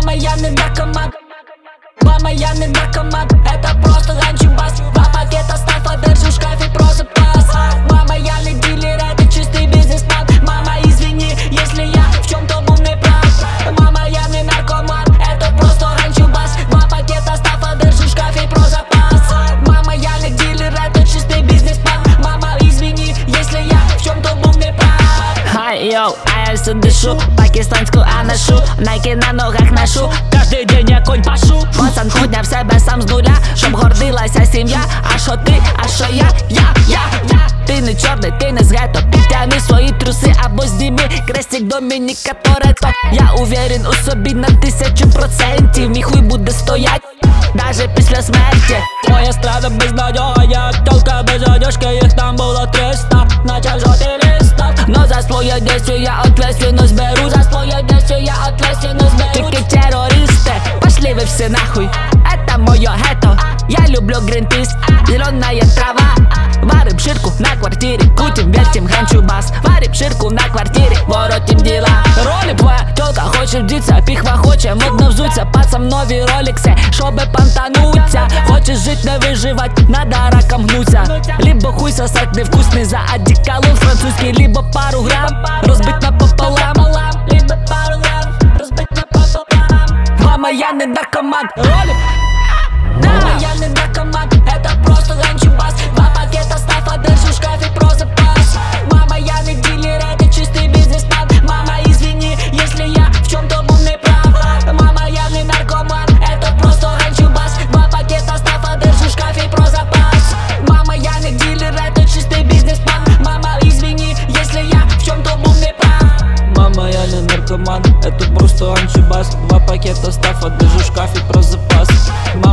Мама, я не наркоман. Мама, я не наркоман. Это просто ганчубас. Два пакета стафа держу в шкафе про запас. Мама, я не дилер, это чистый бизнесмен. Мама, извини, если я в чем-то был неправ. Мама, я не наркоман. Это просто ганчубас. Два пакета стафа держу в шкафе про запас. Мама, я не дилер, это чистый бизнесмен. Мама, извини, если я в чем-то был неправ. Хай, йоу, а я все дышу пакистанську анашу, найки на ногах ношу. Кожний день я конь пашу. Пацан подняв себе сам з нуля, щоб гордилася сім'я. А що ти, а що я. Ти не чорний, ти не з гетто. Підтягни свої труси або зніми крестик Домініка Торетто. Я уверен у собі на 1000%. Мій хуй буде стоять даже після смерті. Твоя страда безнадёга, я тёлка без одежки. Их там было 300, начал жёлтый листок. Но за своє действие я ответственность беру. За свое действие я ответственность беру. Тільки терористи, пошли вы все нахуй. Это моё гетто. Я люблю Гринпис, зеленая трава. Варим ширку на квартире, крутим, вертим ганчубас. Варим ширку на квартире, воротим дела. Роли твоя тёлка хоче вдіться, піхва хоче модно взуться. Пацам нові роликси, щоби пантануться. Хочеш жить, не виживать, надо раком гнуться. Либо хуй сосать невкусный за одеколон французский, либо пару грамм розбить напополам. Либо пару грамм разбить напополам. Мама, я не наркоман. Роли. Мама, я не наркоман. Это просто ганчубас. Два пакета стафа держу в шкафе про запас. Мама, я не дилер, это чистый бизнесмен. Мама, извини, если я в чем-то был неправ. Мама, я не наркоман. Это просто ганчубас. Два пакета стафа держу в шкафе про запас. Мама, я не дилер, это чистый бизнесмен. Мама, извини, если я в чем-то был неправ. Мама, я не наркоман, это просто анчубас. Два пакета стафа держу в шкафе про запас.